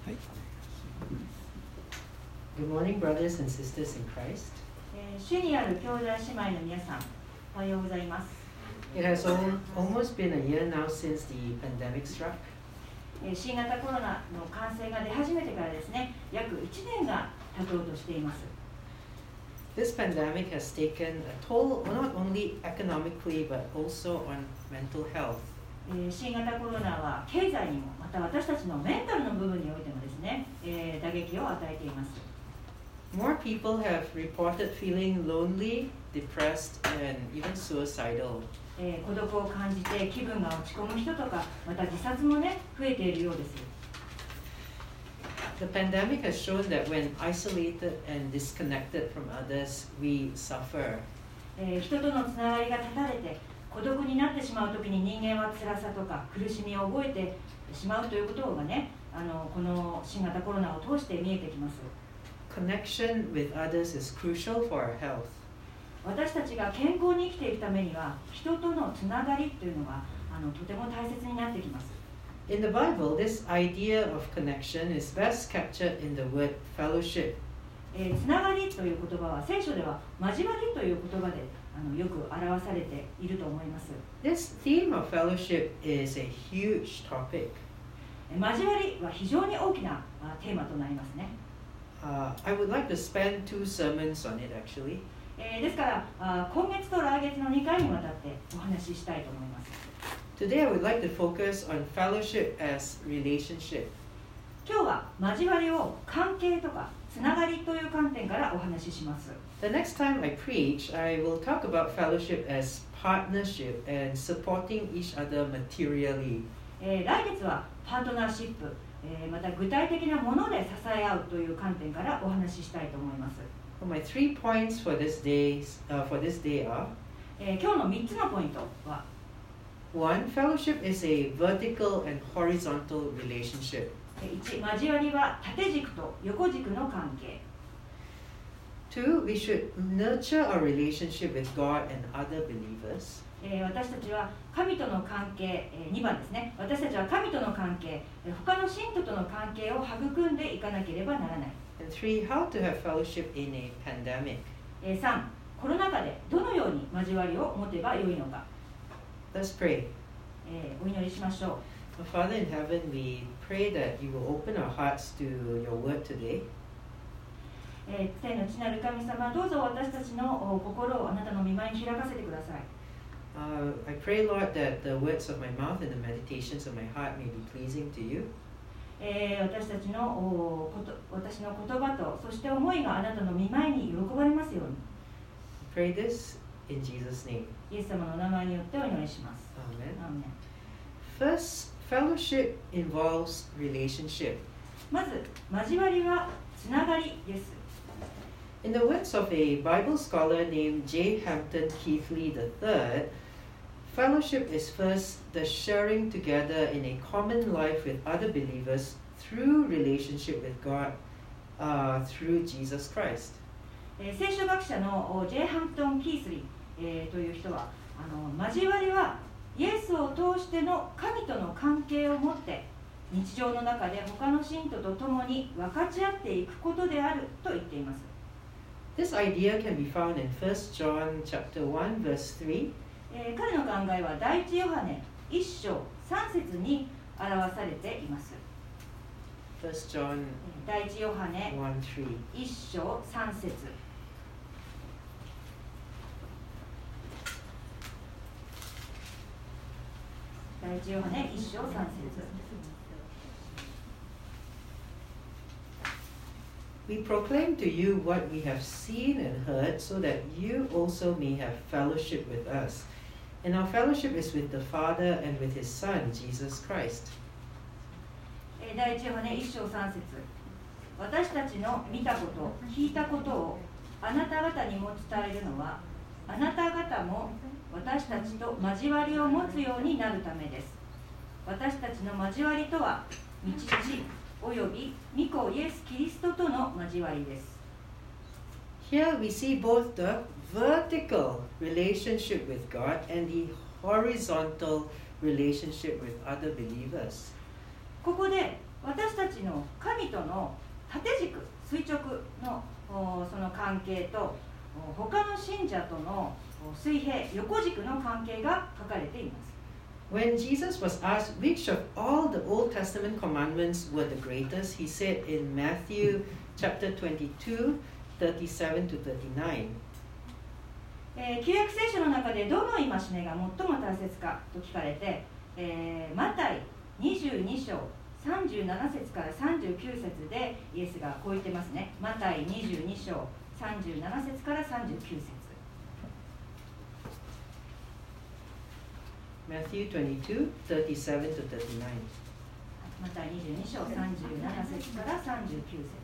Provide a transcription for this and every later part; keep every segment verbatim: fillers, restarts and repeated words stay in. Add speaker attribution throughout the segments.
Speaker 1: はい。
Speaker 2: Good morning, brothers and sisters in Christ.
Speaker 3: えー主にある兄弟姉妹の皆さん、おはようございます。
Speaker 2: It has al- almost been a year now since the pandemic struck.
Speaker 3: えー新型コロナの感染が出始めてからですね、約いちねんが経とうとしています。
Speaker 2: This pandemic has taken a toll not only economically but also on mental health.
Speaker 3: えー新型コロナは経済にも、また私たちのメンタルの部分においてもですね、えー打撃を与えています。
Speaker 2: More people have reported feeling lonely, depressed, and even suicidal.
Speaker 3: えー孤独を感じて気分が落ち込む人とか、また自殺もね、増えているようです。
Speaker 2: The pandemic has shown that when isolated and disconnected from others, we suffer.
Speaker 3: えー人とのつながりが断たれて孤独になってしまうときに人間は辛さとか苦しみを覚えてしまうということがね、あのこの新型コロナを通して見えてきます。
Speaker 2: Connection with others is crucial for our health.
Speaker 3: 私たちが健康に生きていくためには人とのつながりというのがあのとても大切になってきます。
Speaker 2: In the Bible, this idea of connection is best captured in the word fellowship.
Speaker 3: えーつながりという言葉は聖書では交わりという言葉であのよく表されていると思います。
Speaker 2: This theme of fellowship is a huge topic.
Speaker 3: えー交わりは非常に大きなあテーマとなりますね。
Speaker 2: Uh, I would like to spend two sermons on it actually.
Speaker 3: えーですからあ今月と来月のにかいにわたってお話ししたいと思います。
Speaker 2: Today, I would like to focus on fellowship as relationship.
Speaker 3: 今日は交わりを関係とかつながりという観点からお話しします。
Speaker 2: The next time I preach, I will talk about fellowship as partnership and supporting each other materially.
Speaker 3: えー来月はパートナーシップ、えーまた具体的なもので支え合うという観点からお話ししたいと思います。
Speaker 2: Well, my three points for this day, uh, for this day are:
Speaker 3: えー今日のみっつのポイントは
Speaker 2: one, fellowship is a vertical and horizontal relationship.
Speaker 3: いち、交わりは縦軸と横軸の関係。
Speaker 2: Two, we should nurture our relationship with God and other believers.
Speaker 3: えー私たちは神との関係、えーにばんですね、私たちは神との関係、えー他の信徒との関係を育んでいかなければならない。
Speaker 2: And three, how to have fellowship in a pandemic.
Speaker 3: えーさん、コロナ禍でどのように交わりを持てばよいのか、
Speaker 2: Let's pray.
Speaker 3: えーお祈りしましょう。
Speaker 2: Our Father in heaven, we pray that you will open our hearts to your word today.
Speaker 3: えー天の地なる神様、どうぞ私たちのお心をあなたの御前に開かせてください。
Speaker 2: Uh, I pray, Lord, that the words of my mouth and the meditations of my heart may be pleasing to you.
Speaker 3: えー私たちのおこと私の言葉とそして思いがあなたの御前に喜ばれますように、
Speaker 2: I pray this in Jesus' name.
Speaker 3: イエス様のお名前によってお祈りします。
Speaker 2: Amen.
Speaker 3: アーメン。
Speaker 2: First, fellowship involves relationship.
Speaker 3: まず交わりはつながりです。
Speaker 2: In the words of a Bible scholar named J. Hampton Keithley the third, fellowship is first the sharing together in a common life with other believers through relationship with God uh, through Jesus Christ.
Speaker 3: えー聖書学者のお J. ハンプトン・キースリー、えーという人はあの交わりはイエスを通しての神との関係を持って日常の中で他の信徒と共に分かち合っていくことであると言っています。
Speaker 2: This idea can be found in First John chapter one verse three.
Speaker 3: えー彼の考えは第一ヨハネいっ章さん節に表されています。
Speaker 2: First John
Speaker 3: 第一ヨハネ
Speaker 2: one three.
Speaker 3: いっ章さん節。第一ヨハネいっ章さん節。
Speaker 2: We proclaim to you what we have seen and heard, so that you also may have fellowship with us. And our fellowship is with the Father and with His Son, Jesus Christ.
Speaker 3: えー第一ヨハネいっ章さん節。私たちの見たこと聞いたことをあなた方にも伝えるのはあなた方も私たちと交わりを持つようになるためです。私たちの交わりとは道父および御子イエス・キリストとの交わりです。
Speaker 2: Here we see both the vertical relationship with God and the horizontal relationship with other believers.
Speaker 3: ここで私たちの神との縦軸、垂直のその関係と他の信者との水平、横軸の関係が書かれています。
Speaker 2: When Jesus was asked which of all the Old Testament commandments were the greatest, he said in Matthew chapter twenty-two, thirty-seven to thirty-nine.
Speaker 3: えー、旧約聖書の中でどの戒めが最も大切かと聞かれて、えー、マタイにじゅうに章さんじゅうなな節からさんじゅうきゅう節でイエスがこう言ってますね。マタイにじゅうに章さんじゅうなな節からさんじゅうきゅう節。
Speaker 2: Matthew twenty-two, thirty-seven to thirty-nine.
Speaker 3: マタイにじゅうに章さんじゅうなな節からさんじゅうきゅう節。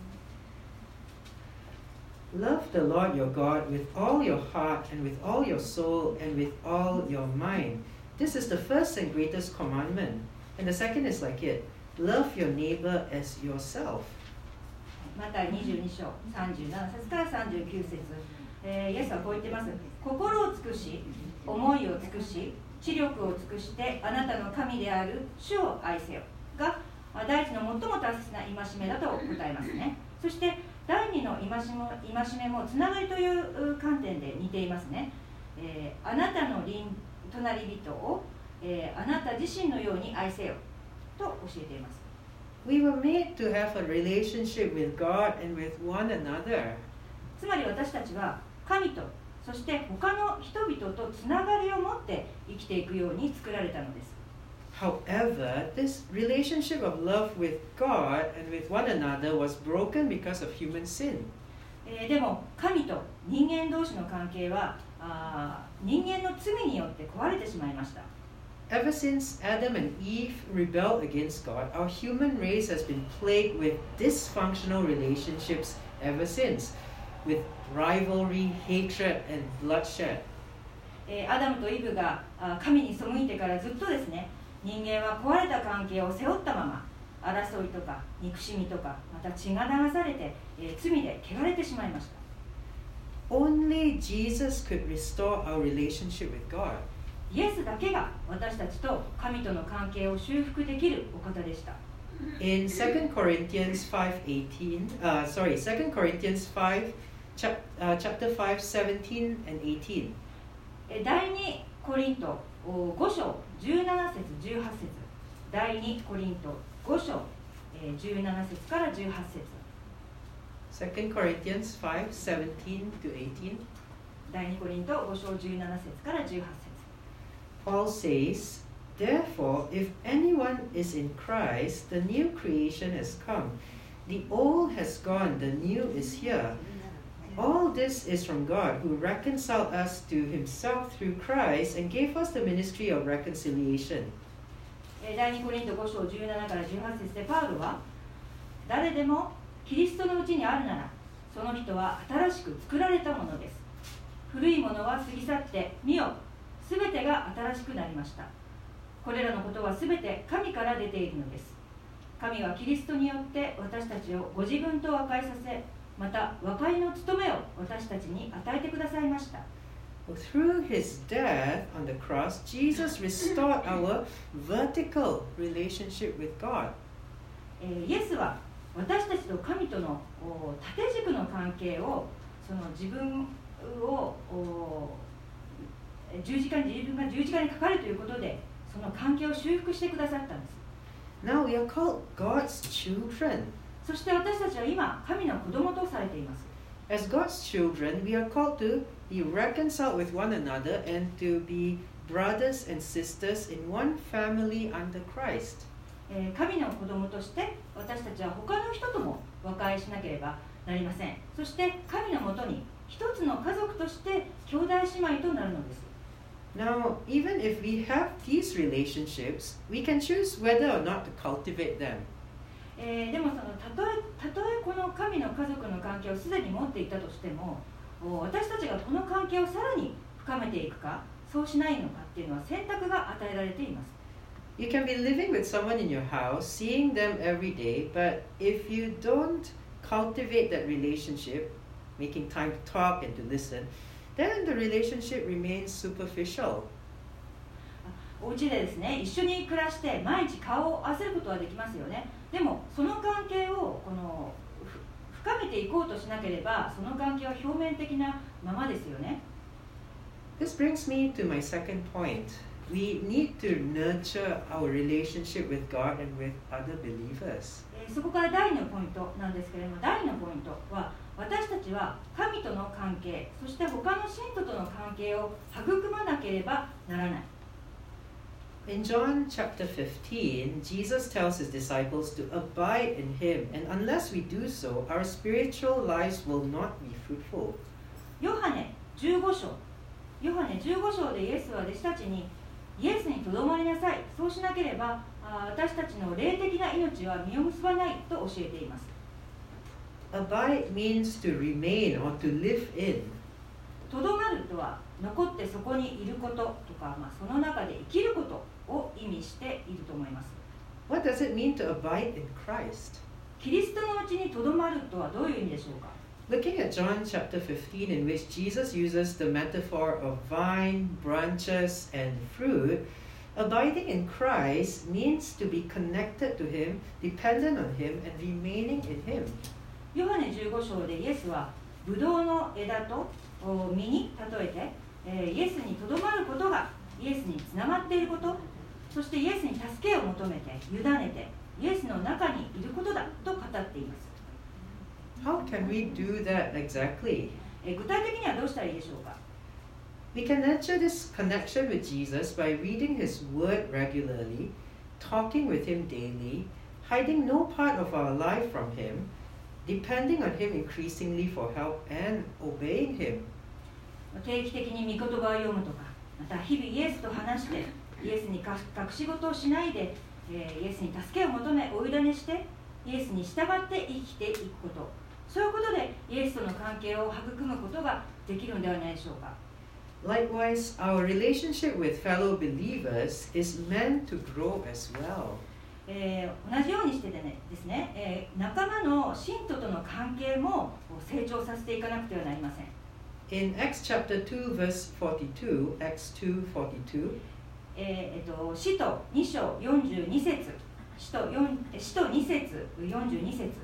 Speaker 2: Love the Lord your God with all your heart and with all your soul and with all your mind. This is the first and greatest commandment. And the second is like it. Love your neighbor as yourself.
Speaker 3: マタイにじゅうに章さんじゅうなな節からさんじゅうきゅう節、えー、イエスはこう言ってます。心を尽くし、思いを尽くし、知力を尽くしてあなたの神である主を愛せよが第一の最も大切な戒めだと答えますね。そして第二の戒めも、戒めもつながりという観点で似ていますね。えー、あなたの隣人を、えー、あなた自身のように愛せよと教えています。
Speaker 2: We were made to have a relationship with God and with one another.
Speaker 3: つまり私たちは神とそして他の人々とつながりを持って生きていくように作られたのです。
Speaker 2: However, this relationship of love with God and with one another was broken because of human sin.
Speaker 3: えー、でも神と人間同士の関係はあ人間の罪によって壊れてしまいました。
Speaker 2: Ever since Adam and Eve rebelled against God, our human race has been plagued with dysfunctional relationships ever since, with rivalry, hatred, and bloodshed.
Speaker 3: えー、アダムとイブが神に背いてからずっとですね、人間は壊れた関係を背負ったまま争いとか憎しみとかまた血が流されて、えー、罪で汚れてしまいました。
Speaker 2: Only Jesus could restore our relationship with God.
Speaker 3: イエスだけが私たちと神との関係を修復できるお方でした。
Speaker 2: In Second Corinthians five eighteen, uh, sorry, Second Corinthians five, chap, uh, chapter five, seventeen and eighteen.
Speaker 3: 第二コリントご章じゅうなな節じゅうはち節、第二コリントご章じゅうなな節からじゅうはち節。
Speaker 2: Second Corinthians five, seventeen to eighteen.
Speaker 3: 第二コリントご章じゅうなな節からじゅうはち節。
Speaker 2: Paul says, Therefore, if anyone is in Christ, the new creation has come. The old has gone, the new is here. All this is from God, who reconciled us to himself through Christ and gave us the ministry of reconciliation.
Speaker 3: 第二コリントご章じゅうななからじゅうはち節でパウロは、誰でもキリストのうちにあるなら、その人は新しく作られたものです。古いものは過ぎ去って、見よ、すべてが新しくなりました。これらのことはすべて神から出ているのです。神はキリストによって私たちをご自分と和解させ、また和解の務めを私たちに与えてくださいました。
Speaker 2: Through his death on the cross, Jesus restored our vertical relationship with God.
Speaker 3: イエスは私たちと神との縦軸の関係を、その自分を十字架に自分が十字架にかかるということで、その関係を修復してくださったんです。
Speaker 2: Now we are called God's children.
Speaker 3: そして私たちは今、神の子供とされています。
Speaker 2: As God's children, we are called to be reconciled with one another and to be brothers and sisters in one family under Christ.
Speaker 3: 神の子供として私たちは他の人とも和解しなければなりません。そして神のもとに一つの家族として兄弟姉妹となるのです。
Speaker 2: Now, even if we have these relationships, we can choose whether or not to cultivate them.
Speaker 3: えー、でもそのたとえたとえこの神の家族の関係をすでに持っていたとしても、私たちがこの関係をさらに深めていくか、そうしないのかっていうのは選択が与えられています。
Speaker 2: You can be living with someone in your house, seeing them every day, but if you don't cultivate that relationship, making time to talk and to listen, then the relationship remains superficial.
Speaker 3: お家でですね、一緒に暮らして毎日顔を合わせることはできますよね。でもその関係をこうとしなければ、その関係は表面的なままですよね。
Speaker 2: This brings me to my second point. We need to nurture our relationship with God and with other believers.
Speaker 3: えー、そこから第二のポイントなんですけれども、第二のポイントは、私たちは神との関係、そして他の信徒との関係を育まなければならない。
Speaker 2: In John chapter fifteen, Jesus tells his disciples to abide in him, and unless we do so, our spiritual lives will not be fruitful.
Speaker 3: ヨハネじゅうご章、ヨハネじゅうご章でイエスは弟子たちに、イエスにとどまりなさい、そうしなければあ私たちの霊的な命は実を結ばないと教えています。
Speaker 2: Abide means to remain or to live in.
Speaker 3: とどまるとは残ってそこにいることとか、まあ、その中で生きることを意味していると思います。
Speaker 2: What does it mean to abide in Christ?
Speaker 3: キリストのうちにとどまるとはどういう意味でしょうか。
Speaker 2: Looking at John chapter fifteen, in which Jesus uses the metaphor of vine, branches, and fruit, abiding in Christ means to be connected to Him, dependent on Him, and remaining in Him.
Speaker 3: ヨハネじゅうご章でイエスはブドウの枝と実に例えて、えー、イエスにとどまることがイエスにつながっていること、そしてイエスに助けを求めて委ねてイエスの中にいることだと語っています。
Speaker 2: How can we do that exactly?
Speaker 3: えー、具体的にはどうしたらいいでしょうか。
Speaker 2: We can nurture this connection with Jesus by reading His Word regularly, talking with Him daily, hiding no part of our life from Him, depending on Him increasingly for help, and obeying Him.
Speaker 3: 定期的に御言葉を読むとか、また日々イエスと話してイエスに隠し事をしないで、えー、イエスに助けを求めお委ねしてイエスに従って生きていくこと、そういうことでイエスとの関係を育むことができるのではないでしょうか。
Speaker 2: Likewise, our relationship with fellow believers is meant to grow as well.
Speaker 3: えー、同じようにしてねですね、えー、仲間の信徒との関係も成長させていかなくてはなりません。
Speaker 2: In Acts chapter two, verse forty-two, Acts two forty-two,
Speaker 3: えーえっと、使徒に章よんじゅうに節、使徒使徒に節、よんじゅうに節。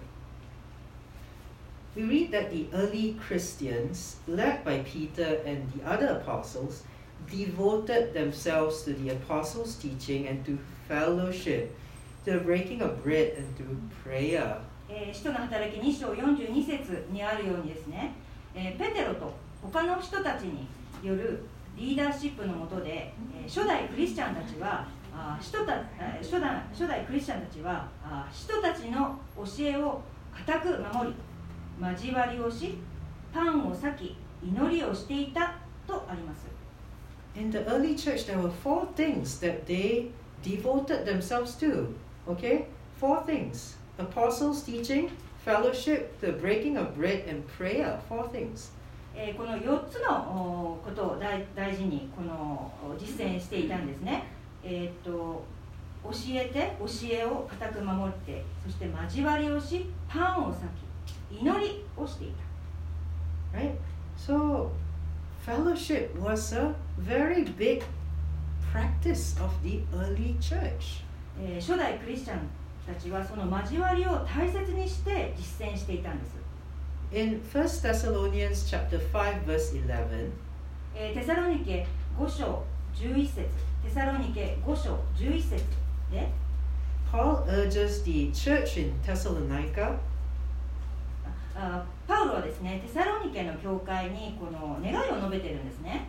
Speaker 2: we read that the early Christians, led by Peter and the other apostles, devoted themselves to the apostles' teaching and to fellowship, to the breaking of bread and to prayer.
Speaker 3: えー、使徒の働きに章よんじゅうに節にあるようにですね、えー、ペテロと他の人たちによるリーダーシップの下で、えー、初代クリスチャンたちはあ使徒た初代初代クリスチャンたちはあ使徒たちの教えを固く守り、交わりをし、パンを裂き、祈りをしていたとあります。
Speaker 2: In the early church, there were four things that they devoted themselves to. Okay? Four things. Apostles' teaching, fellowship, the breaking of bread, and prayer. Four things.
Speaker 3: えー、このよっつのことを 大, 大事にこの実践していたんですね。えー、と教えて、教えを固く守って、そして交わりをし、パンを裂き、祈りをしていた。
Speaker 2: Right? So, fellowship was a very big practice of the early church.
Speaker 3: えー、初代クリスチャンたちはその交わりを大切にして実践していたんです。
Speaker 2: In First Thessalonians chapter five, verse eleven,
Speaker 3: えー、テサロニケご章じゅういち節、テサロニケご章じゅういち節で、
Speaker 2: Paul urges the church in Thessalonica
Speaker 3: あパウロはですね、テサロニケの教会にこの願いを述べているんですね。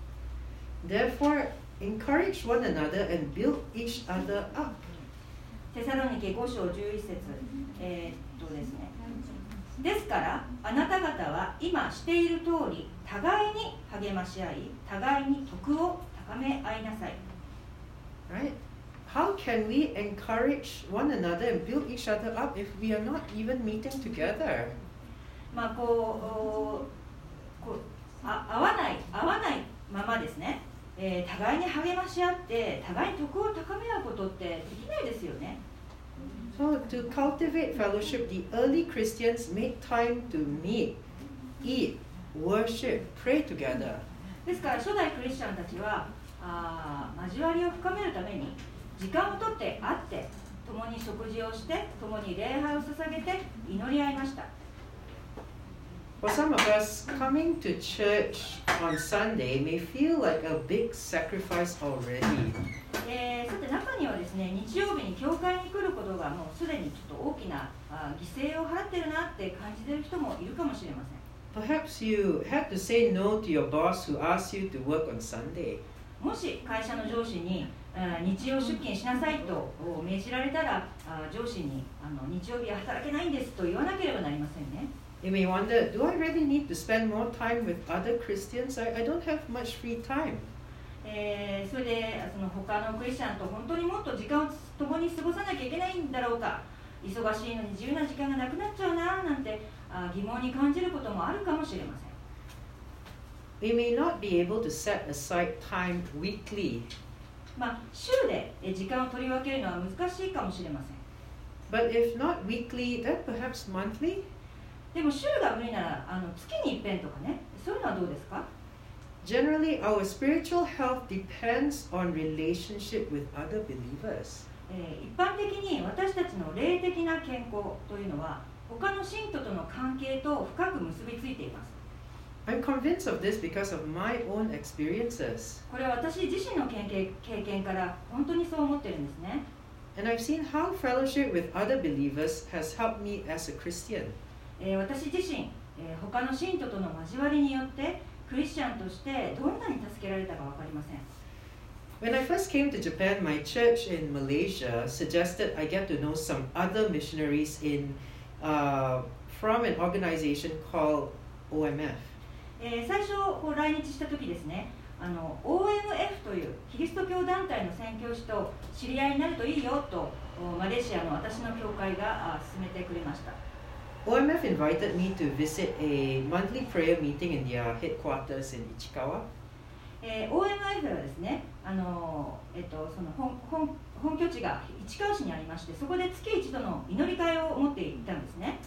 Speaker 2: Therefore, encourage one another and build each other up.
Speaker 3: テサロニケご章じゅういち節、えー、っとですね、ですからあなた方は今している通り互いに励まし合い、互いに徳を高め合いなさい。
Speaker 2: Right? How can we encourage one another and build each other up if we are not even meeting together?
Speaker 3: まあこう、こうあ合わない合わないままですね、えー、互いに励まし合って互いに徳を高め合うことってできないですよね。
Speaker 2: So to cultivate fellowship, the early Christians made time to meet, eat, worship, pray together.
Speaker 3: ですから初代クリスチャンたちはあ交わりを深めるために時間をとって会って共に食事をして共に礼拝を捧げて祈り合いました。
Speaker 2: For some of us, coming to church on Sunday may feel like a big sacrifice already.
Speaker 3: えー、さて中にはですね、日曜日に教会に来ることがもうすでにちょっと大きなあ犠牲を払ってるなって感じている人もいるかもしれません。
Speaker 2: Perhaps you had to say no to your boss who asked you to work on Sunday.
Speaker 3: もし会社の上司にあ日曜出勤しなさいと命じられたら、あ上司にあの日曜日は働けないんですと言わなければなりませんね。
Speaker 2: You may wonder, do I really need to spend more time with other Christians? I, I don't have much free time.
Speaker 3: えー、それでその他のクリスチャンと本当にもっと時間を共に過ごさなきゃいけないんだろうか、忙しいのに自由な時間がなくなっちゃうななんてあ疑問に感じることもあるかもしれません。
Speaker 2: We may not be able to set aside time weekly.
Speaker 3: まあ、週で時間を取り分けるのは難しいかもしれません。
Speaker 2: But if not weekly, then perhaps monthly?
Speaker 3: でも週が無理ならあの月に一遍とかね、そういうのはどうですか？
Speaker 2: Generally, our spiritual health depends on relationship with other believers.
Speaker 3: えー、一般的に私たちの霊的な健康というのは他の信徒との関係と深く結びついています。
Speaker 2: I'm convinced of this because of my own experiences.
Speaker 3: これは私自身の経験、経験から本当にそう思ってるんですね。
Speaker 2: And I've seen how fellowship with other believers has helped me as a Christian.
Speaker 3: えー、私自身、えー、他の信徒との交わりによってクリスチャンとしてどんなに助けられたか分かりません。
Speaker 2: When I first came to Japan, my church in Malaysia suggested I get to know some other missionaries in uh, from an organization called O M F.
Speaker 3: えー、最初こう来日した時ですね、あの オーエムエフ というキリスト教団体の宣教師と知り合いになるといいよとマレーシアの私の教会が勧めてくれました。
Speaker 2: O M F invited me to visit a monthly prayer meeting in their headquarters in Ichikawa.
Speaker 3: えー、オーエムエフ はですね、あのえっと、その 本, 本, 本拠地が市川市にありまして、そこで月一度の祈り会を持っていたんですね。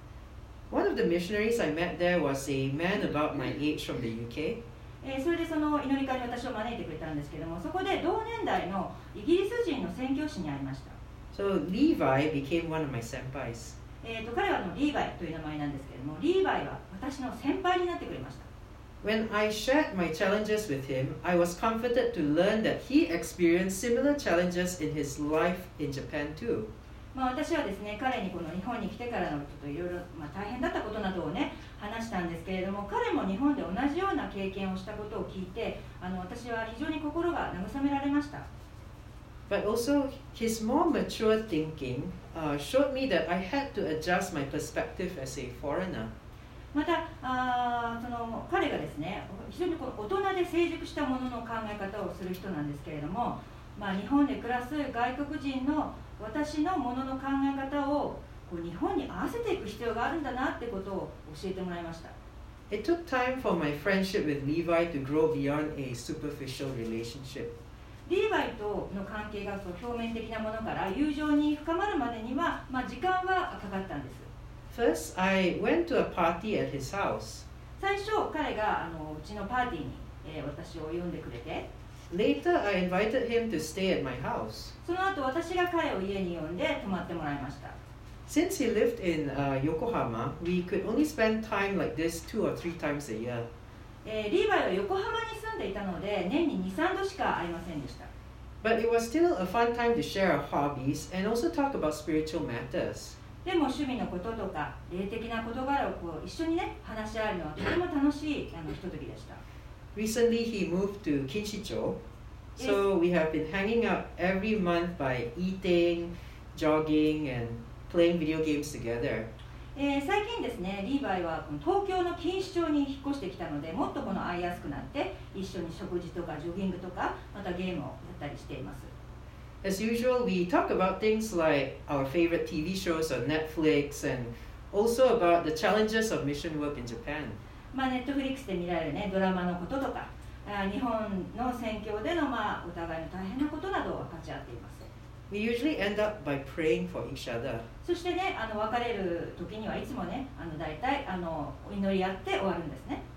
Speaker 2: One of the missionaries I met there was a man about my age from the U K.
Speaker 3: えー、それでその祈り会に私を招いてくれたんですけども、そこで同年代のイギリス人の宣教師に会いました。
Speaker 2: So Levi became one of my senpais.
Speaker 3: えー、と彼はあのリーバイという名前なんですけれども、リーバイは私の先輩になってくれました。
Speaker 2: When I shared my challenges with him, I was comforted to learn that he experienced similar challenges in his life in Japan too.
Speaker 3: まあ私はですね、彼にこの日本に来てからのちょっといろいろまあ大変だったことなどをね話したんですけれども、彼も日本で同じような経験をしたことを聞いて、あの私は非常に心が慰められました。
Speaker 2: But also, his more mature thinking uh, showed me that I had to adjust my perspective as a foreigner.
Speaker 3: またあその彼がですね、非常にこう大人で成熟したものの考え方をする人なんですけれども、まあ、日本で暮らす外国人の私のものの考え方をこう日本に合わせていく必要があるんだなってことを教えてもらいました。
Speaker 2: It took time for my friendship with Levi to grow beyond a superficial relationship.
Speaker 3: リーバイとの関係がそう表面的なものから友情に深まるまでには、まあ、時間はかかったんです。
Speaker 2: First, I went to a party at his house.
Speaker 3: 最初彼があのうちのパーティーに、えー、私を呼んでくれて、
Speaker 2: Later, I invited him to stay at my house.
Speaker 3: その後私が彼を家に呼んで泊まってもらいました。
Speaker 2: Since he lived in uh, Yokohama, we could only spend time like this two or three times a year.
Speaker 3: えー、リーバイは横浜に住んでいたので年にに、さんどしか会いませんでした。
Speaker 2: But it was still a fun time to share our hobbies and also talk about spiritual matters.
Speaker 3: でも趣味のこととか霊的な事柄をこう一緒にね話し合えるのはとても楽しいあのひとときでした。
Speaker 2: Recently, he moved to Kinshicho, so we have been hanging out every month by eating, jogging, and playing video games together.
Speaker 3: えー、最近ですね、リーバイはこの東京の錦糸町に引っ越してきたので、もっとこの会いやすくなって一緒に食事とかジョギングとかまたゲームをやったりしています。
Speaker 2: As usual, we talk about things like our favorite T V shows on Netflix and also about the challenges of mission work in Japan.
Speaker 3: まあ、ネットフリックスで見られる、ね、ドラマのこととか、あ日本の宣教での、まあ、お互いの大変なことなどを分かち合っています。
Speaker 2: We usually end up by praying for each other.
Speaker 3: そしてね、あの別れる時にはいつもね、あの大体あのお祈り合って終わるんですね。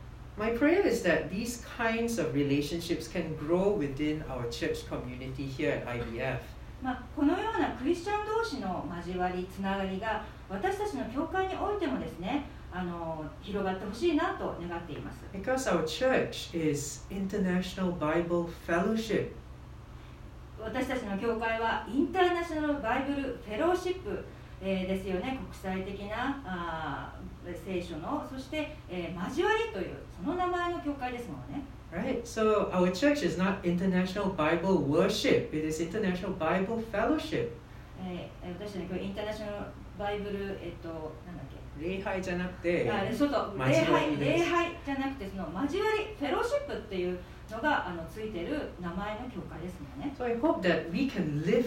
Speaker 2: My prayer is that these kinds of relationships can grow within our church community here at I B F.
Speaker 3: まあ、このようなクリスチャン同士の交わり、つながりが私たちの教会においてもですね、あの広がってほしいなと願っています。
Speaker 2: Because our church is International Bible Fellowship.
Speaker 3: 私たちの教会はインターナショナルバイブルフェローシップ、えー、ですよね。国際的なあ聖書の、そして、えー、交わりというその名前の教会ですもんね。
Speaker 2: Right? So our church is not International Bible Worship, it is International Bible Fellowship.
Speaker 3: えー、私たちの教会インターナショナルバイブル、えっと、なんだっけ、
Speaker 2: 礼拝じゃなくて、
Speaker 3: あそうと礼拝、礼拝じゃなくてその交わり、フェローシップっていうのがあのついてる名前の教会ですもんね。
Speaker 2: So I hope that we can live,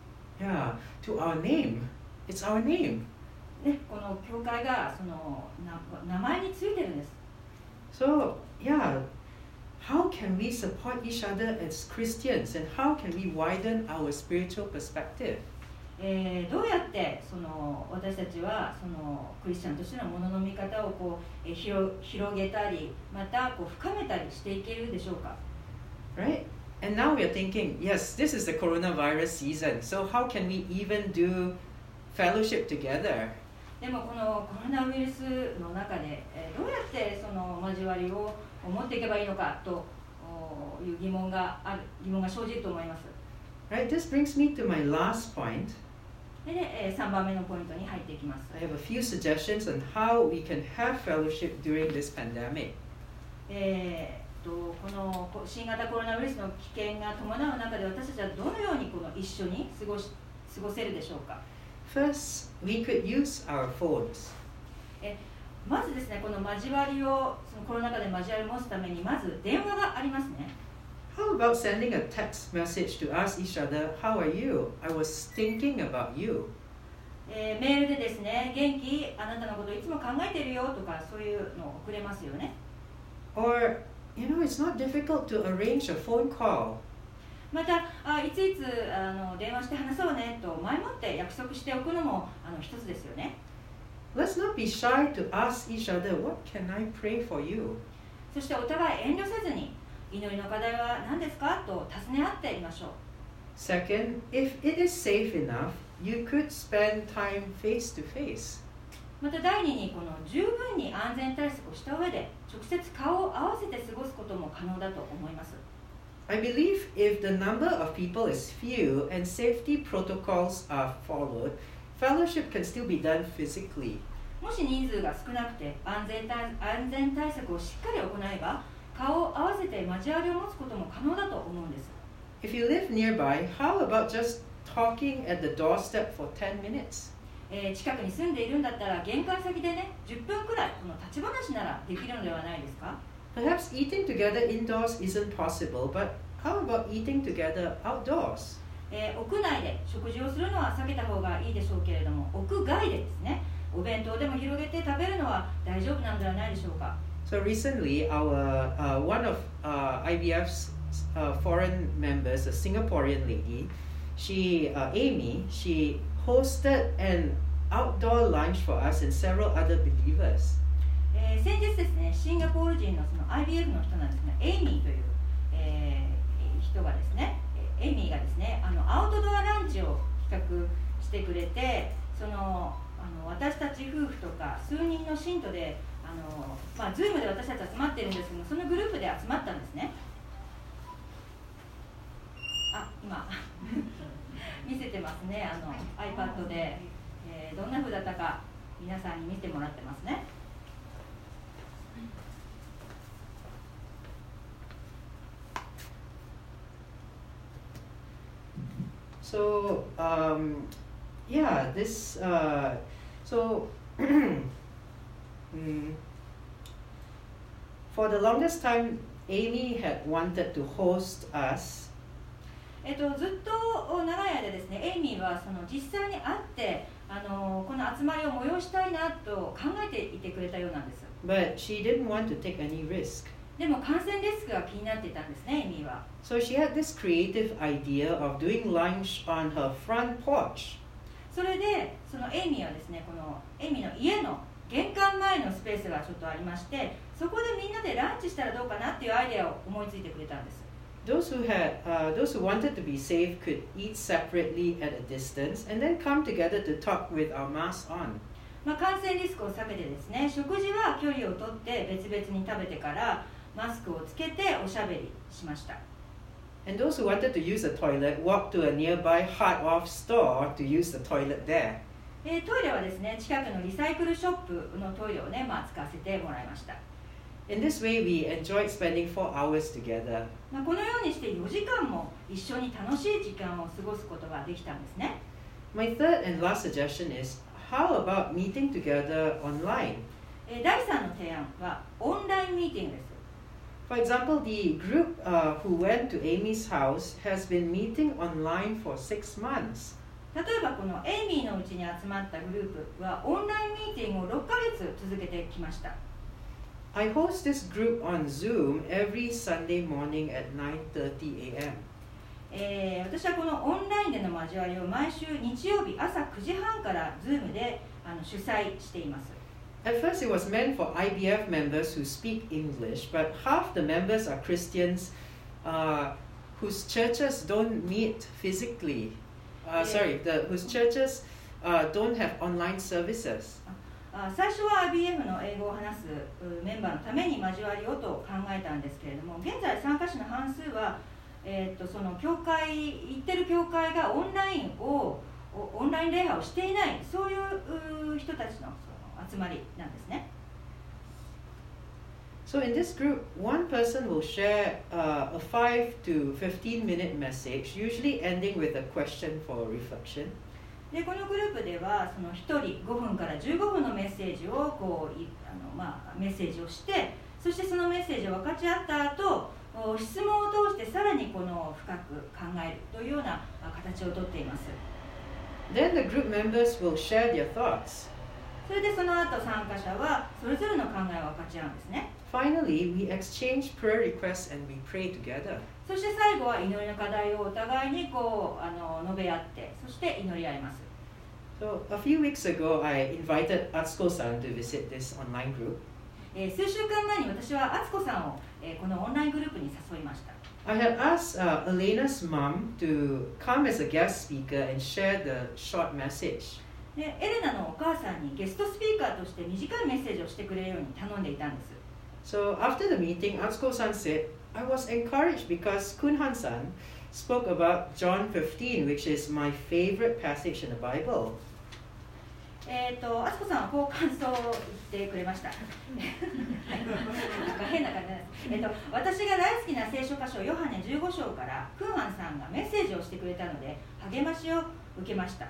Speaker 2: yeah, to our name. It's our name.
Speaker 3: ね、この教会がそのな名前についてるんです。
Speaker 2: So, yeah, how can we support each other as Christians and how can we widen our spiritual perspective?
Speaker 3: えー、どうやってその私たちはそのクリスチャンとしてのものの見方をこう、えー、広, 広げたりまたこう深めたりしていけるでしょうか。
Speaker 2: Right? And now we are thinking, yes, this is the coronavirus season, so how can we even do fellowship together?
Speaker 3: でもこのコロナウイルスの中で、えー、どうやってその交わりを持っていけばいいのかという疑問がある疑問が生じると思います。
Speaker 2: Right? This brings me to my last point.
Speaker 3: で、えー、さんばんめのポイントに入っていきます。
Speaker 2: I have a few suggestions on how we can have fellowship during this pandemic.
Speaker 3: えー、とこの新型コロナウイルスの危険が伴う中で私たちはどのようにこの一緒に過ごし過ごせるでしょうか。
Speaker 2: First, we could use our phones.
Speaker 3: えまずですね、この交わりをそのコロナ禍で交わりを持つためにまず電話がありますね。
Speaker 2: How about sending a text message to ask each other, how are you? I was thinking about you.
Speaker 3: えー、メールでですね、元気、あなたのことをいつも考えているよとかそういうのを送れますよね。
Speaker 2: Or, you know, it's not difficult to arrange a phone call.
Speaker 3: またあいついつあの電話して話そうねと前もって約束しておくのもあの一つですよね。
Speaker 2: Let's not be shy to ask each other, what can I pray for you?
Speaker 3: そしてお互い遠慮せずに祈りの課題は何ですかと尋ね合ってみましょう。
Speaker 2: Second, if it is safe enough, you could spend time face to face.
Speaker 3: また第二にこの十分に安全対策をした上で直接顔を合わせて過ごすことも可能だと思います。
Speaker 2: I believe if the number of people is few and safety protocols are followed, fellowship can still be done physically.
Speaker 3: もし人数が少なくて安全対、安全対策をしっかり行えば顔を合わせて交わりを持つことも可能だと思うんです。
Speaker 2: If you live nearby, how about just talking at the doorstep for ten minutes?
Speaker 3: えー、近くに住んでいるんだったら玄関先でねじゅっぷんくらいこの立ち話ならできるのではないですか。
Speaker 2: Perhaps eating together indoors isn't possible, but how about eating together outdoors?
Speaker 3: えー、屋内で食事をするのは避けた方がいいでしょうけれども屋外でですねお弁当でも広げて食べるのは大丈夫なんではないでしょうか。
Speaker 2: So recently, our uh, one of uh, I B F's uh, foreign members, a Singaporean lady, she uh, Amy, she hosted an outdoor lunch for us and several other believers.
Speaker 3: えー、先日ですねシンガポール人のその アイビーエフ の人なんですがエイミーという、えー、人がですねエイミーがですねあのアウトドアランチを企画してくれてそのあの私たち夫婦とか数人の信徒であの、まあ、ズームで私たち集まってるんですけどそのグループで集まったんですね。あ今見せてますねあの iPad で、えー、どんな風だったか皆さんに見てもらってますね。
Speaker 2: So um, yeah, this uh, so mm, for the longest time, Amy had wanted to host us.
Speaker 3: えっと、ずっと長い間ですね、エイミーはその実際に会ってあのこの集まりを催したいなと考えていてくれたようなんです。
Speaker 2: But she didn't want to take any risk.
Speaker 3: でも感染リスクが気になっていたんですね、エイミーは。
Speaker 2: So she had this creative idea of doing lunch on her front porch.
Speaker 3: それでそのエイミーはですね、このエイミーの家の玄関前のスペースがちょっとありまして、そこでみんなでランチしたらどうかなっていうアイデアを思いついてくれたんです。
Speaker 2: those who had, uh, those who wanted to be safe could eat separately at a distance and then come together to talk with our masks on.
Speaker 3: まあ、感染リスクを避けてですね、食事は距離をとって別々に食べてからマスクをつけておしゃべりしました。
Speaker 2: And those who wanted to use the toilet walked to a nearby hard-off store to use the toilet there.
Speaker 3: えー、トイレはですね、近くのリサイクルショップのトイレをね、まあ、使わせてもらいました。
Speaker 2: In this way, we enjoyed spending four hours together.
Speaker 3: まあ、このようにしてよじかんも一緒に楽しい時間を過ごすことができたんですね。
Speaker 2: My third and last suggestion is, how about meeting together online?
Speaker 3: えー、だいさんの提案はオンラインミーティングです。
Speaker 2: For example, the group uh, who went to Amy's house has been meeting online for six months.
Speaker 3: 例えばこのエイミーのうちに集まったグループはオンラインミーティングをろっかげつ続けてきました。
Speaker 2: I host this group on Zoom every Sunday morning at nine thirty a m
Speaker 3: えー、私はこのオンラインでの交わりを毎週日曜日朝くじはんから Zoom であの主催しています。
Speaker 2: At first, it was meant for I B F members who speak English, but half the members are Christians uh, whose churches don't meet physically. Uh, sorry, the, whose churches uh, don't have online services.
Speaker 3: あ最初は アイビーエフ の英語を話すメンバーのために交わりをと考えたんですけれども、現在参加者の半数は、えー、とその教会行ってる教会がオンラインをオンライン礼拝をしていない、そういう人たちの集まりなんですね。
Speaker 2: So in this group, one person will share uh, a five to fifteen minute message, usually ending with a question for reflection.
Speaker 3: でこのグループではそのひとりごふんからじゅうごふんのメッセージをこういあの、まあ、メッセージをして、そしてそのメッセージを分かち合った後、質問を通してさらにこの深く考えるというような形をとっています。
Speaker 2: Then the group members will share their thoughts.
Speaker 3: それでその後参加者はそれぞれの考えを分かち合うんですね。
Speaker 2: Finally, we exchange prayer requests and we pray together.
Speaker 3: そして最後は祈りの課題をお互いにこうあの述べ合って、そして祈り合います。
Speaker 2: So a few weeks ago, I invited Atsuko-san to visit this online group.
Speaker 3: えー、数週間前に私は敦子さんを、えー、このオンライングループに誘いました。
Speaker 2: I had asked uh, Elena's mom to come as a guest speaker and share the short message.
Speaker 3: でエレナのお母さんにゲストスピーカーとして短いメッセージをしてくれるように頼んでいたんです。
Speaker 2: So after the meeting, Atsuko-san said, I was encouraged because Kunhan-san spoke about John fifteen, which is my favorite passage in the Bible.
Speaker 3: えっと、敦子さんはこう感想を言ってくれました。なんか変な感じなんです。えっと、私が大好きな聖書箇所ヨハネじゅうご章からクンハンさんがメッセージをしてくれたので励ましを受けました。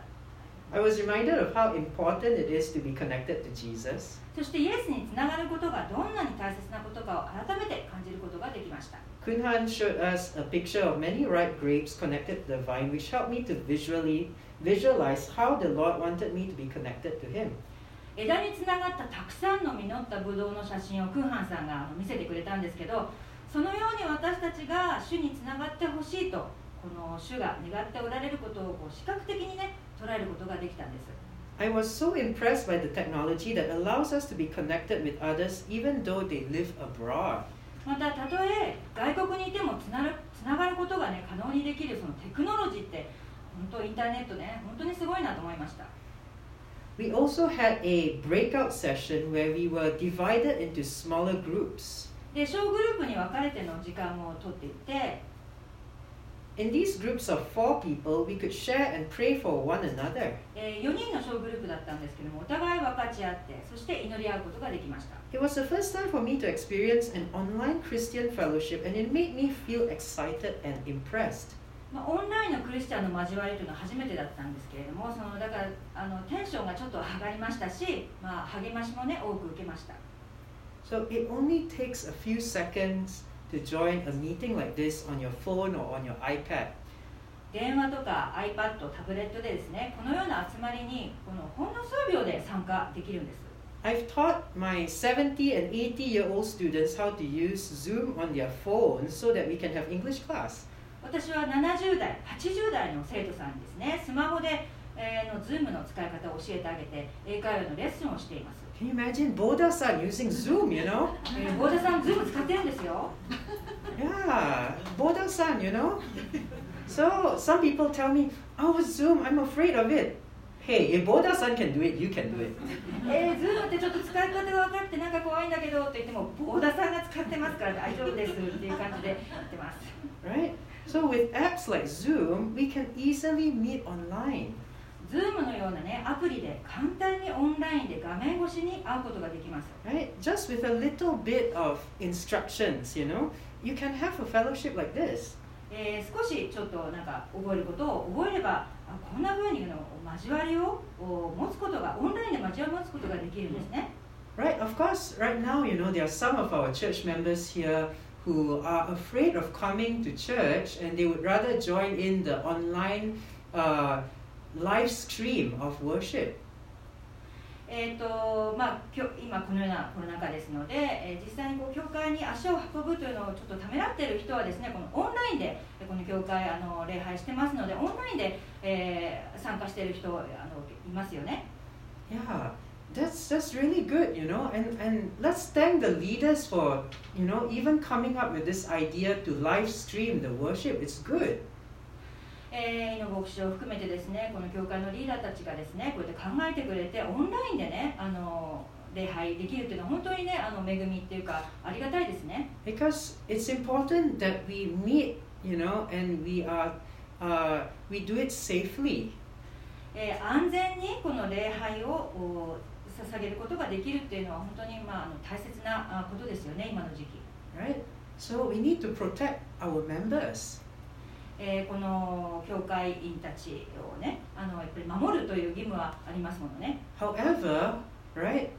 Speaker 2: I was reminded of how important it is to be connected to Jesus.
Speaker 3: そしてイエスにつながることがどんなに大切なことかを改めて感じることができました。
Speaker 2: Kunhan showed us a picture of many ripe grapes connected to the vine, which helped me to visually visualize how the Lord wanted me to be connected to Him.
Speaker 3: 枝につながったたくさんの実ったブドウの写真をクンハンさんが見せてくれたんですけど、そのように私たちが主につながってほしいと、この主が願っておられることをこう視覚的にね捉えることができたんです。
Speaker 2: I was so impressed by the technology that allows us to be connected with others even though they live abroad.
Speaker 3: また、たとえ外国にいてもつなる、つながることがね可能にできるそのテクノロジーって本当インターネットね本当にすごいなと思いました。
Speaker 2: We also had a breakout session where we were divided into smaller groups.
Speaker 3: で、小グループに分かれての時間をとっていて、
Speaker 2: In these groups of four people, we could share and pray for one another.
Speaker 3: えー、よにんの小グループだったんですけども、お互い分かち合って、そして祈り合うことができました。
Speaker 2: It was the first time for me to experience an online Christian fellowship, and it made me feel excited and impressed.
Speaker 3: まあ、オンラインのクリスチャンの交わりというのは初めてだったんですけれども、そのだからあのテンションがちょっと上がりましたし、まあ、励ましもね多く受けました。
Speaker 2: So it only takes a few seconds to join a meeting like this on your phone or on your iPad.
Speaker 3: 電話とか iPad、タブレットでですね、このような集まりにこのほんの数秒で参加できるんです。
Speaker 2: I've taught my seventy and eighty year old students how to use Zoom on their phones so that we can have English class.
Speaker 3: 私はななじゅう代、はちじゅう代の生徒さんにですね、スマホで、えー、の Zoom の使い方を教えてあげて、英会話のレッスンをしています。
Speaker 2: Can you imagine Boda-san using Zoom, you know?
Speaker 3: えー、ボーダさん Zoom 使ってるんですよ。
Speaker 2: Yeah, Boda-san, you know. So some people tell me, "Oh, Zoom, I'm afraid of it." Hey, if Boda-san can do it, you can do it.
Speaker 3: えー、ズームってちょっと使い方が分かってなんか怖いんだけどって言っても、ボーダさんが使ってますから大丈夫ですっていう感じで言ってます。
Speaker 2: Right? So with apps like Zoom, we can easily meet online.
Speaker 3: ズームのようなね、アプリで簡単にオンラインで画面越しに会うことができます。
Speaker 2: Right? Just with a little bit of instructions, you know, you can have a fellowship like this.
Speaker 3: えー、少しちょっとなんか覚えることを覚えれば、あこんな風にの交わりを持つことが、オンラインで交わりを持つことができるんですね。
Speaker 2: Right? Of course, right now, you know, there are some of our church members here who are afraid of coming to church and they would rather join in the online uh, live stream of worship.
Speaker 3: えーとまあ、今このようなコロナ禍ですので、えー、実際にこう教会に足を運ぶというのをちょっとためらっている人はですね、このオンラインでこの教会あの礼拝してますので、オンラインで、えー、参加している人あのいますよね。
Speaker 2: Yeah, that's that's really good, you know, and and let's thank the leaders for, you know, even coming up with this idea to live stream the worship. It's good.
Speaker 3: えー、井野牧師を含めてですね、この教会のリーダーたちがですね、こうやって考えてくれて、オンラインでね、あの礼拝できるっていうのは本当にね、あの恵みっていうかありがたいですね。
Speaker 2: Because it's important that we meet, you know, and we are, uh, we do it safely.
Speaker 3: えー、安全にこの礼拝を捧げることができるっていうのは本当にまああの大切なことですよね、今の時期。
Speaker 2: Right? So we need to protect our members.
Speaker 3: えー、この教会員たちをね、あのやっぱり守るという義務はありますものね。
Speaker 2: However, right,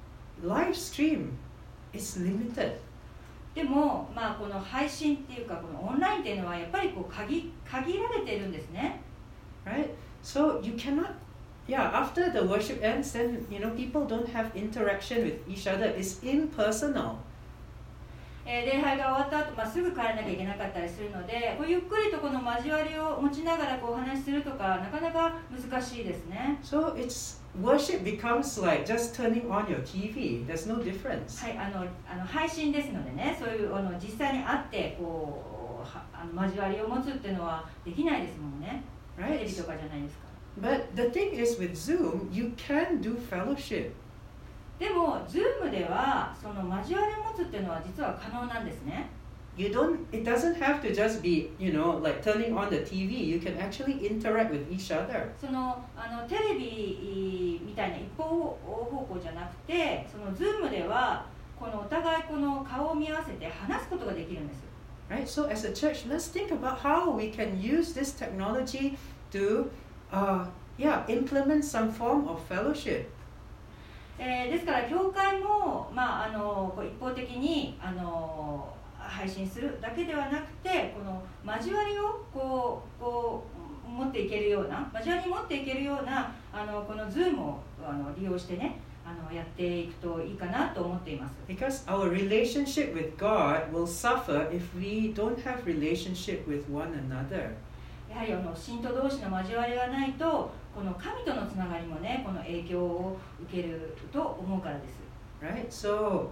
Speaker 2: live stream is limited.
Speaker 3: でも、まあ、この配信っていうか、このオンラインっていうのはやっぱりこう限、限られているんですね。
Speaker 2: Right? So you cannot, yeah, after the worship ends, then, you know, people don't have interaction with each other. It's impersonal.
Speaker 3: えー、礼拝が終わった後、まあ、すぐ帰らなきゃいけなかったりするので、こうゆっくりとこの交わりを持ちながらこうお話しするとかなかなか難しいですね。
Speaker 2: So it's worship becomes like just turning on your T V. There's no difference.
Speaker 3: はい、あのあの配信ですのでね、そういうあの実際に会ってこうはあの交わりを持つっていうのはできないですもんね。
Speaker 2: Right?
Speaker 3: テレビとかじゃないですか。
Speaker 2: But the thing is with Zoom, you can do fellowship.
Speaker 3: でも、Zoom ではその交わりを持つっていうのは実は可能なんですね。
Speaker 2: You don't, it doesn't have to just be, you know, like turning on the T V. You can actually interact with each other.
Speaker 3: そのあのテレビみたいな一方方向じゃなくて、その Zoom ではこのお互いこの顔を見合わせて話すことができるんです。
Speaker 2: Right? So as a church, let's think about how we can use this technology to, uh, yeah, implement some form of fellowship.
Speaker 3: えー、ですから教会も、まあ、あのこう一方的にあの配信するだけではなくて、この交わりをこうこう持っていけるような、交わりに持っていけるようなあのこの Zoom をあの利用してね、あのやっていくといいかなと思っています。
Speaker 2: Because our relationship with God will suffer if we don't have relationship with one another.
Speaker 3: やはりあの信徒同士の交わりがないと、この神とのつながりもね、この影響を受けると思うからです。
Speaker 2: Right? So,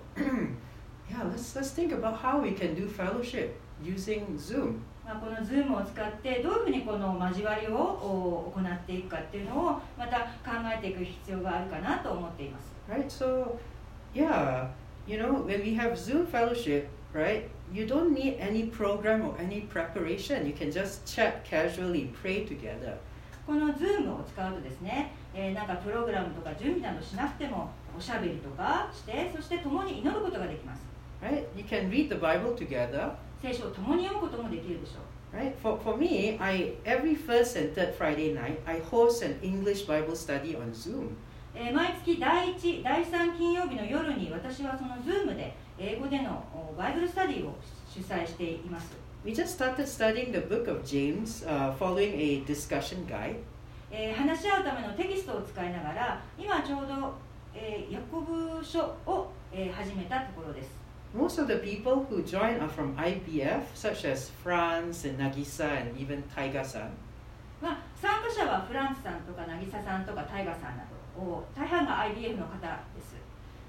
Speaker 2: yeah, let's let's think about how we can do fellowship using Zoom.
Speaker 3: まあこの Zoom を使ってどういうふうにこの交わりを行っていくかっていうのをまた考えていく必要があるかなと思っています。
Speaker 2: Right? So, yeah, you know, when we have Zoom fellowship, right? You don't need any program or any preparation. You can just chat casually, pray together.
Speaker 3: この Zoom を使うとですね、えー、なんかプログラムとか準備などしなくてもおしゃべりとかして、そして共に祈ることができます。
Speaker 2: Right? You can read the Bible together.
Speaker 3: 聖書を共に読むこともできるでしょう。
Speaker 2: Right? For for me, I every first and third Friday night, I host an English Bible study on Zoom.
Speaker 3: えー、毎月だいいち、だいさん金曜日の夜に私はその Zoom で英語でのバイブルスタディを主催しています。
Speaker 2: We just started studying the book of James, uh, following a discussion guide.
Speaker 3: えー、話し合うためのテキストを使いながら、今ちょうど、えー、ヤコブ書を、えー、始めたところです。
Speaker 2: Most of the people who join are from I B F, such as Franz and Nagisa and even Taiga-san.
Speaker 3: まあ、参加者はフランスさんとか渚さんとかタイガさんなど、大半が アイビーエフ の方です。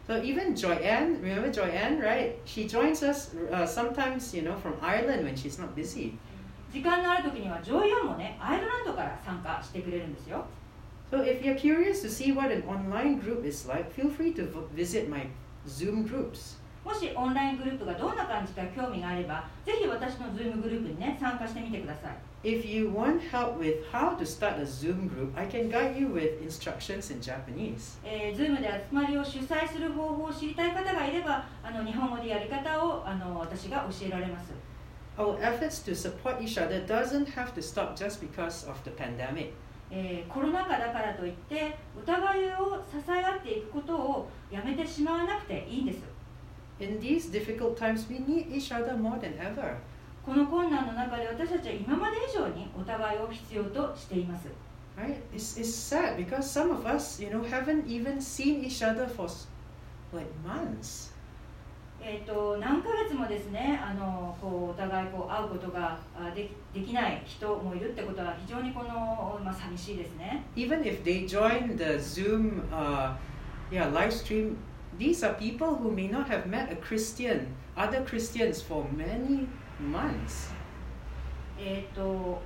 Speaker 2: So even Joyanne, remember Joyanne, right? She joins us uh, sometimes, you know, from Ireland when she's not busy.
Speaker 3: 時間のある時にはジョイアンもね、アイルランドから参加してくれるんですよ。
Speaker 2: So if you're curious to see what an online group is like, feel free to visit my Zoom groups.
Speaker 3: もしオンライングループがどんな感じか興味があれば、ぜひ私の Zoom グループにね、参加してみてください。
Speaker 2: If you want help with how to start a Zoom group, I can guide you with instructions in Japanese.
Speaker 3: えー、Zoom で集まりを主催する方法を知りたい方がいれば、あの日本語でやり方をあの私が教えられます。
Speaker 2: Our efforts to support each other doesn't have to stop just because of the pandemic.
Speaker 3: えー、コロナ禍だからといってお互いを支え合っていくことをやめてしまわなくていいんです。
Speaker 2: In these difficult times, we need each other more than ever.
Speaker 3: この困難の中で私たちは今まで以上にお互いを必要としています。
Speaker 2: Right? It's, it's sad because some of us, you know, haven't even seen each other for like months.
Speaker 3: えー、と何ヶ月もですね、あのこうお互いこう会うことがで き, できない人もいるってことは非常にこの、まあ、寂しいですね。
Speaker 2: Even if they join the Zoom, uh, yeah, live stream, these are people who may not have met a Christian, other Christians for many months.
Speaker 3: えっ、と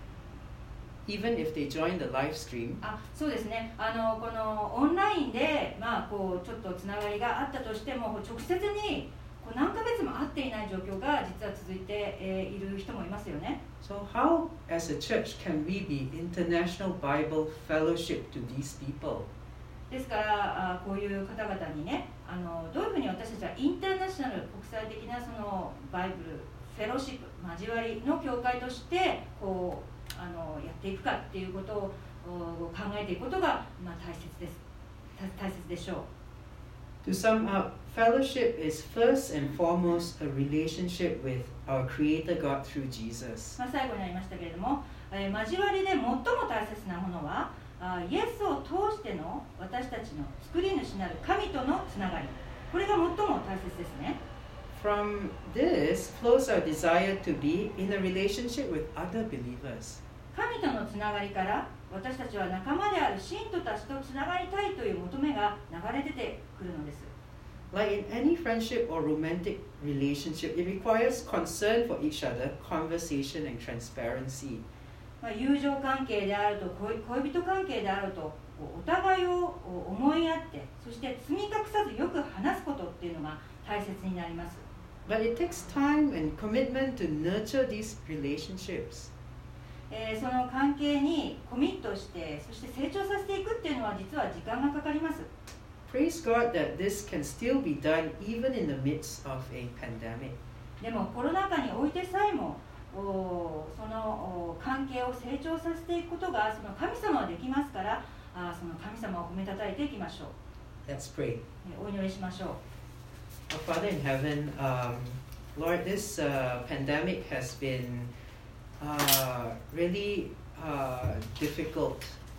Speaker 2: Even if they join the live stream.
Speaker 3: あ、そうですね。あのこのオンラインでまあこうちょっとつながりがあったとしても、直接にこう何ヶ月も会っていない状況が実は続いて、えー、いる人もいますよね。
Speaker 2: So how, as a church, can we be international Bible fellowship to these people?
Speaker 3: ですからあこういう方々にね、あのどういうふうに私たちはインターナショナル国際的なそのバイブルフェローシップ交わりの教会としてこうあのやっていくかっていうことを考えていくことが、まあ、大切です。大切でしょう。
Speaker 2: To sum up, fellowship is first and foremost a relationship with our Creator God through Jesus.
Speaker 3: まあ最後になりましたけれども、えー、交わりで最も大切なものはあイエスを通しての私たちの作り主なる神とのつながり、これが最も大切ですね。
Speaker 2: From this flows our desire to be in a relationship with other believers.
Speaker 3: 神とのつながりから私たちは仲間である信徒たちとつながりたいという求めが流れ出てくるのです。
Speaker 2: Like in any friendship or romantic relationship, it requires concern for each other, conversation and transparency.
Speaker 3: まあ友情関係であると恋人関係であるとお互いを思いやって、そして包み隠さずよく話すことっていうのが大切になります。
Speaker 2: But it takes time and commitment to nurture these relationships.
Speaker 3: えー、その関係にコミットして、そして成長させていくっていうのは実は時間がかかります。
Speaker 2: Praise God that this can still be done even in the midst of a pandemic.
Speaker 3: でもコロナ禍においてさえもおそのお関係を成長させていくことがその神様はできますから、あその神様を褒めたたえていきましょう。
Speaker 2: Let's pray.
Speaker 3: お祈りしましょう。
Speaker 2: Our Father in heaven, um, Lord, this uh, pandemic has been uh, really uh, difficult.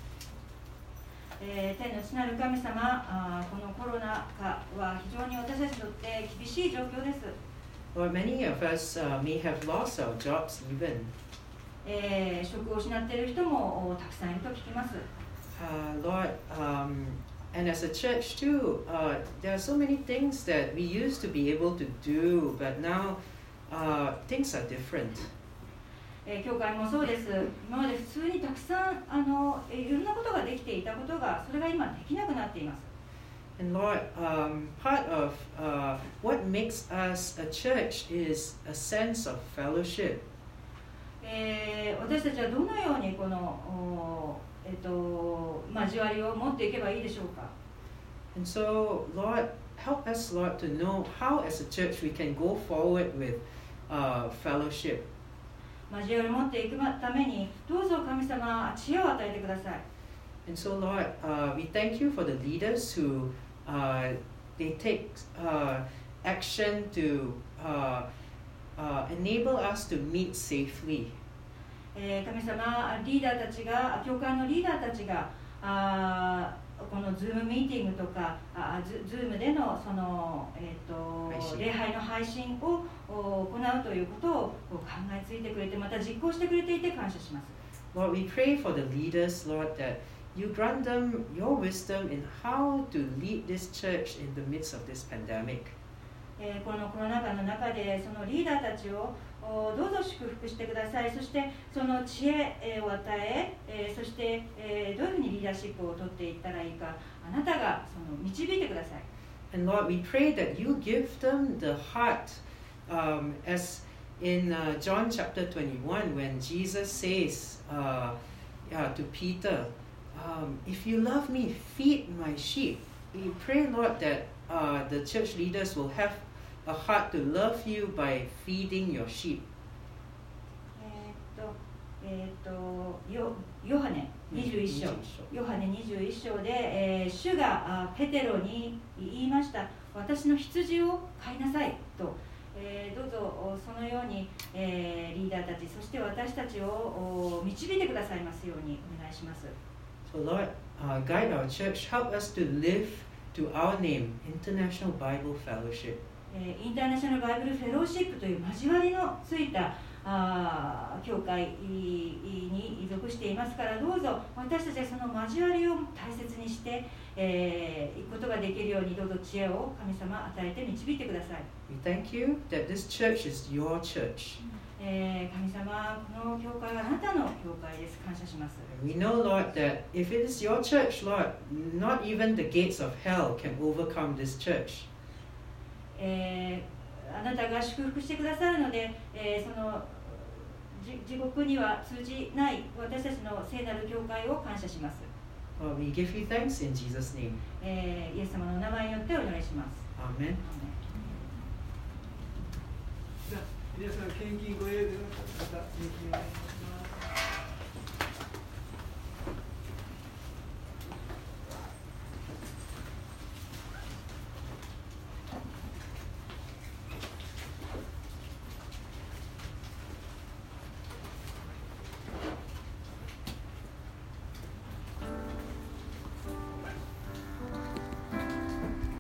Speaker 3: えー、天の父なる神様、あこのコロナ禍は非常に私たちにとって厳しい状況です。
Speaker 2: Lord, many of us uh, may have lost our jobs even.
Speaker 3: えー、職を失っている人もたくさんいると聞きます。
Speaker 2: Uh, Lord, um, and as a church too, uh, there are so many things that we used to be able to do, but now uh, things are different.
Speaker 3: えー、教会もそうです。今まで普通にたくさんあのいろんなことができていたことが、それが今できなくなっています。
Speaker 2: And Lord, um, part of uh, what makes us a church is a sense of fellowship.
Speaker 3: えー、私たちはどのようにこのえっと交わりを持っていけばいいでしょうか。
Speaker 2: And so, Lord, help us, Lord, to know how, as a church, we can go forward with uh, fellowship.
Speaker 3: 交わりを持っていくために、どうぞ神様、知恵を与えてください。
Speaker 2: And so, Lord, uh, we thank you for the leaders who uh, they take uh, action to uh, uh, enable us to meet safely.
Speaker 3: えー、神様、リーダーたちが、教会のリーダーたちが、あこのズームミーティングとか、あズズームでのその、えー、と礼拝の配信を行うということを考えついてくれて、また実行してくれていて感謝します。
Speaker 2: Lord, we pray for the leaders, Lord, that you grant them your wisdom in how to lead this church in the midst of this pandemic.
Speaker 3: えー、このコロナ禍の中でそのリーダーたちをどうぞ祝福してください。そしてその知恵を与え、えー、そして、えー、どういうふうにリーダーシップを取っていったらいいか、あなたがその導いてください。
Speaker 2: And Lord, we pray that you give them the heart, um, as in uh, John chapter twenty-one, when Jesus says uh, yeah, to Peter, um, if you love me, feed my sheep. We pray, Lord, that uh, the church leaders will have a heart to love you by feeding your sheep.
Speaker 3: えーっと、えーっと、ヨ、ヨハネにじゅういっ章、ヨハネにじゅういっ章で、えー、主があペテロに言いました。私の羊を飼いなさいと、えー、どうぞそのように、えー、リーダーたち、そして私たちを導いてくださいますようにお願いします。
Speaker 2: So Lord, uh, guide our church, help us to live to our name, International Bible Fellowship.
Speaker 3: インターナショナルバイブルフェローシップという交わりのついたあ教会に属していますから、どうぞ私たちはその交わりを大切にして、えー、いくことができるように、どうぞ知恵を神様与えて導いてください。
Speaker 2: We thank you that this church is your church.
Speaker 3: えー、神様、この教会はあなたの教会です。感謝します。
Speaker 2: We know, Lord, that if it is your church, Lord, not even the gates of hell can overcome this church.
Speaker 3: えー、あなたが祝福してくださるので、えー、その地獄には通じない私たちの聖なる教会を感謝します。
Speaker 2: Lord, we give you thanks in Jesus' name.
Speaker 3: えー、イエス様の名前によってお願いします。
Speaker 2: アーメン。
Speaker 1: じゃあ皆さん献金ご用意の方、献金お願いします。